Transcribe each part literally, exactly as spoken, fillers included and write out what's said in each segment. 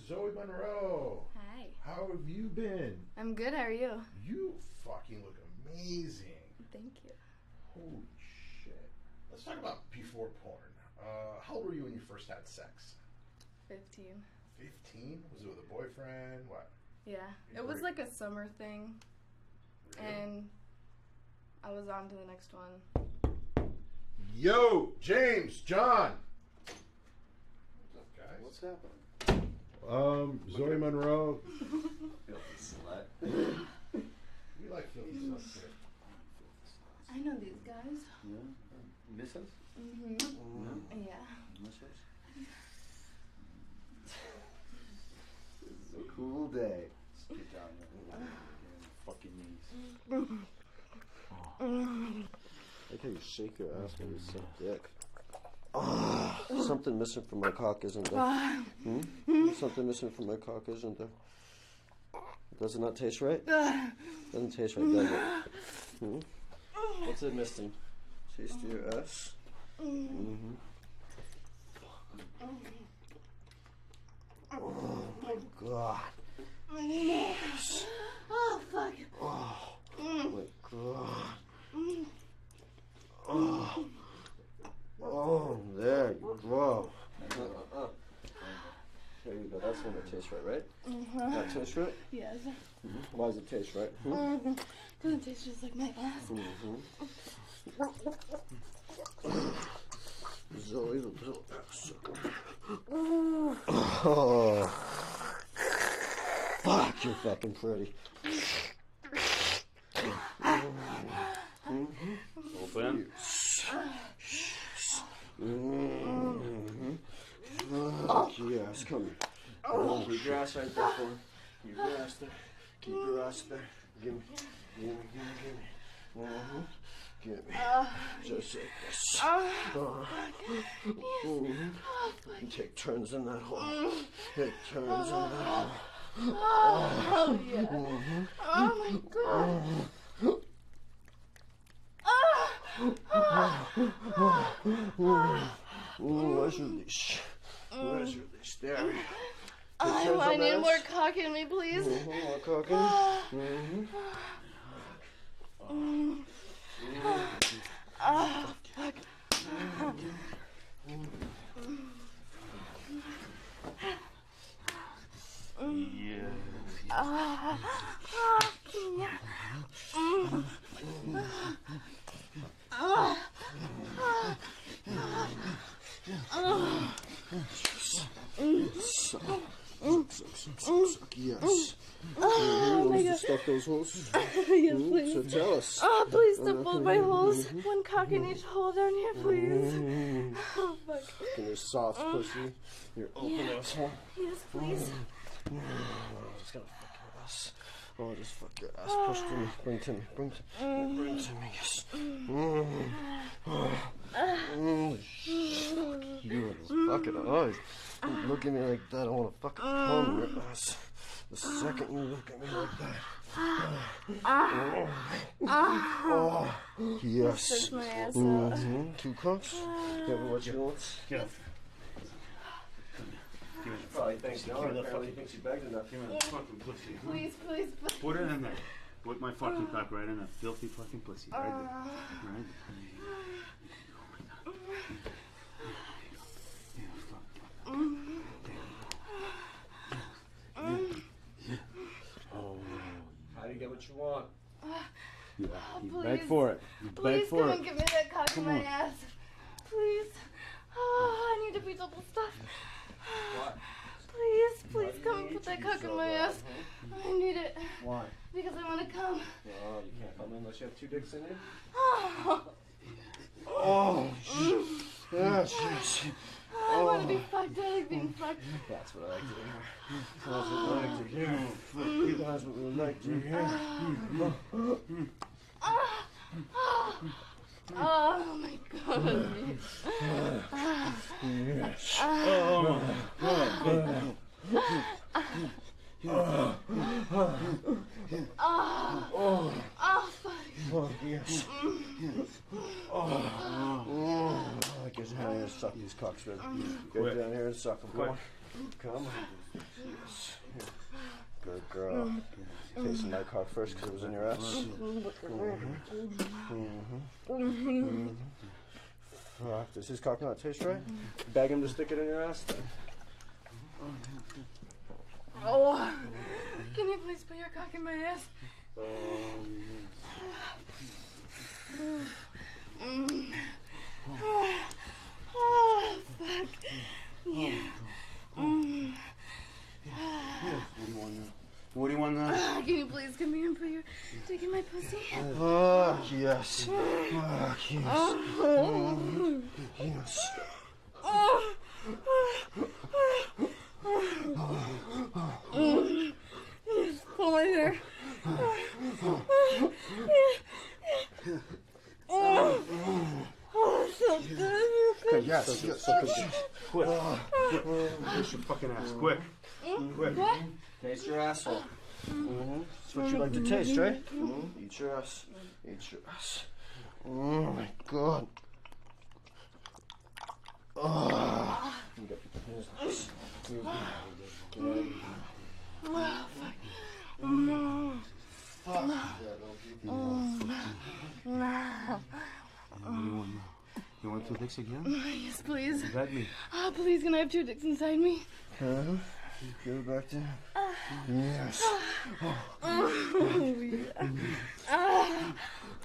Zoe Monroe. Hi. How have you been? I'm good. How are you? You fucking look amazing. Thank you. Holy shit. Let's talk about before porn. Uh, how old were you when you first had sex? Fifteen. Fifteen? Was it with a boyfriend? What? Yeah. You It was were- like a summer thing, Really? and I was on to the next one. Yo, James, John. What's up, guys? What's happening? Um, Zoe Monroe. Filthy slut. We like filthy stuff too. I know these guys. Yeah. Miss us? Mm-hmm. Yeah. Yeah. Miss us? This is a cool day. Let's get down here. Get on your fucking knees. I like how you shake your ass when you suck dick. Oh, something missing from my cock, isn't there? Hmm? Something missing from my cock, isn't there? Does it not taste right? Doesn't taste right, does it? Hmm? What's it missing? Taste of your ass? Mm-hmm. Oh my god. Oh, fuck. Oh my god. Oh. Oh, there you go. Uh-uh. There you go. That's when it tastes right, right? Mm-hmm. That tastes right? Yes. Mm-hmm. Why does it taste right? Hmm? Mm-hmm. Cause it tastes just like my ass. Mm-hmm. Zoe the little ass. Oh. Fuck, you're fucking pretty. Mm-hmm. Open. Mm-hmm. Fuck yes, come here. Oh, keep your ass right there for me. Keep your ass there. Keep your ass there. Give me, give me, give me, give me. Mm-hmm. Give me. Just like this. Uh, mm-hmm. Take turns in that hole. Take turns in that hole. Oh, yeah. Mm-hmm. Oh, my God. Mm, where's your leash? Where's your leash? There. Take I, turns I on need that more ass. cock in me, please. Mm-hmm. More cooking. Mm-hmm. Oh, fuck. Yeah. Ah, yeah. Suck, suck, suck, suck, suck, yes. Oh, my You want us to God. stuff those holes? Yes, Mm, please. So tell us. Oh, please stop both my holes. One cock in each hole down here, please. Mm, Oh, fuck. in your soft pussy, your open asshole. Yes, please. Oh, just gonna fuck your ass. Oh, just fuck your ass. Push to me. Bring to me. Bring to me. Bring to me. Yes. Mm. Oh. Mm. You fucking eyes. You look at me like that, I want to fucking palm your ass. The second you look at me like that. Oh, yes. Push my ass out. Mm-hmm. Two cocks. Yeah, what you want? Get up. Give me the Probably thinks Give no, me the apparently fucking, thinks you begged enough. give me the fucking pussy. Please, please, please. Put it in there. Put my fucking cock right in that filthy fucking pussy. Right there. Right there. Oh my god. Yeah, fuck, fuck. Oh, How do you get what you want? yeah. You please. beg for it. You beg Please for come it. and give me that cock in Come my on. ass. Please. Oh, I need to be double stuffed. What? Please, Why please do you come and need put to that be cock in so my bad, ass. I need it. Why? Because I want to come. No, you can't come in unless you have two dicks in you. Oh, Oh, yes, yes. I want to be fucked. I like being fucked. That's what I like to hear. That's what I like to hear. That's what we like to hear. Oh my god. Yes. Oh, oh, Oh, oh, fuck. Oh, yes. Oh, I guess how you suck these cocks, man. Go down here and suck them. Come on. Come on. Yes. Good girl. Tasting my cock first because it was in your ass. Mm-hmm. Mm-hmm. Mm-hmm. Fuck, does his cock not taste right? Beg him to stick it in your ass then. Oh, can you please put your cock in my ass? Mm. Oh, fuck. Yeah. Mm. What do you want now? What do you want now? Uh, can you please come here and put your dick in my pussy? Oh, yes. Oh, yes. Oh. Yes. Oh. Mm. Yes, pull my hair. Oh, oh, so good. Yes, yes, yes. Quick. Taste your fucking ass. Quick. Quick. What? Taste your asshole. Mm-hmm. That's what you like to taste, right? Mm-hmm. Eat your ass. Eat your ass. Oh my god. Oh. You got business. Oh, fuck. Mm. Fuck. Mm. What do you want now? You want two dicks again? Yes, please. Beg me. Oh, please, can I have two dicks inside me? Huh? Give it back to him. Yes. Oh, yeah. Ah.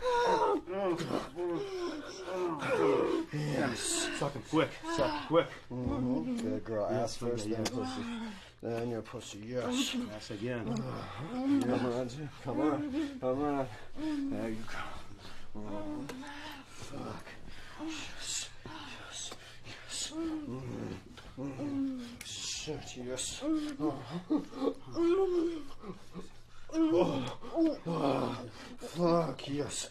Yes. Suck him. Quick. Suck. Quick. Mm-hmm. Good girl. Ass Yes, first, yeah, then yeah. pussy. Then your pussy. Yes. Ass again. Come on. Come on. Come on. There you go. Mm. Fuck. Yes. Yes. Yes. Mm. Mm. Shit, yes. Oh. Oh. Oh. Fuck, yes.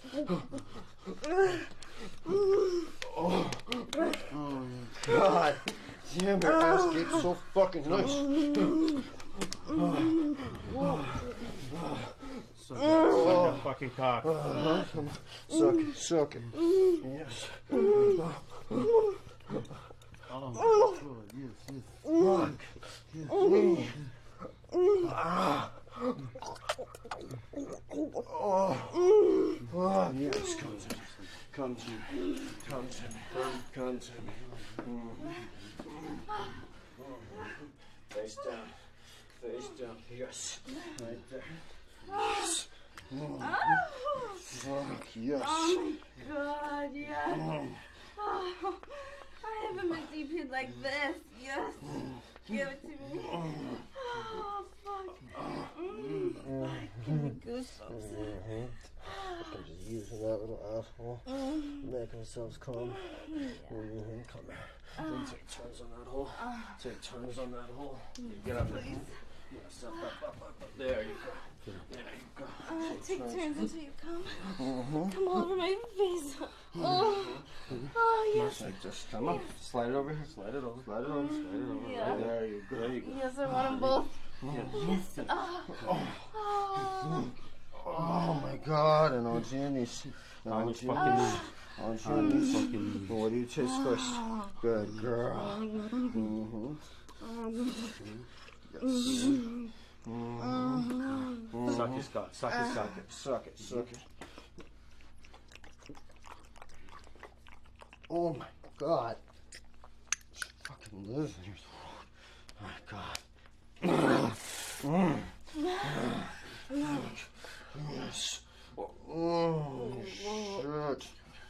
Oh. God damn, your ass gets so fucking nice. Suck that, suck that fucking cock. Uh-huh. Suck it, suck it. Yes. Oh, good. Yes, yes. Fuck. Mm. Ah. Oh. Oh, yes, come to me. Come to me. Come to me. Come to me. Mm. Face down. Face down. Yes. Right there. Yes. Mm. Fuck, yes. Oh, my God, yes. Oh, I haven't been deep like this. Yes. Give it to me. Oh, fuck. Mm. Oh, give me goosebumps. Mm-hmm. I'm just using that little asshole. Mm. Make ourselves calm. Yeah. Mm-hmm. Come here. Then take turns on that hole. Take turns on that hole. Get up there. Yes, up, up, up, up, up. There you go. There you go. Uh, take turns until you come. Mm-hmm. Come all over my face. Oh, oh yes. Like just come up. Slide it over here. Slide it over. Slide it over. Slide it over. Yeah. Right there you go. There you go. Yes, I want them both. Yes. Oh, oh. Oh my God! And on your knees. On your On your fucking knees. knees. On your On your knees. fucking knees. What do you taste first? Good girl. Mm-hmm. Yes. Mm-hmm. Suck his cock. Suck his cock. Suck it, suck it. Oh my God. Fucking live in your throat. Oh my God. Mm. Yes. Oh, shit.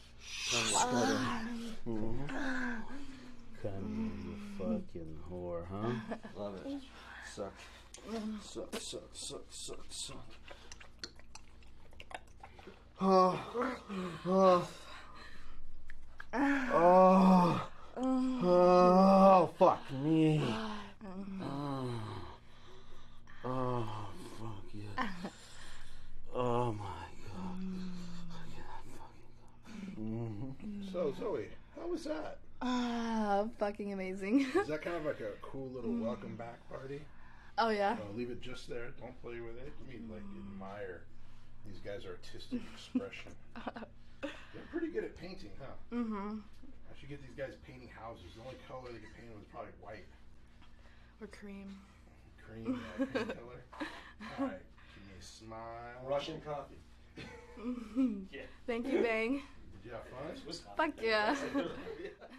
Mm-hmm. Come, you fucking whore, huh? Love it. Suck. Suck, suck, suck, suck, suck. Oh. Oh. Oh. Oh, fuck me. Oh, oh fuck yeah. Oh my God. Mm-hmm. So, Zoe, how was that? Ah, fucking amazing. Is that kind of like a cool little welcome back party? Oh, yeah. Uh, leave it just there. Don't play with it. You mean like admire these guys' artistic expression. They're pretty good at painting, huh? Mm-hmm. I should get these guys painting houses. The only color they could paint was probably white. Or cream. Cream, yeah, cream color. All right, give me a smile. Russian coffee. Yeah. Thank you, Bang. Did you have fun? Swiss Fuck yeah. coffee.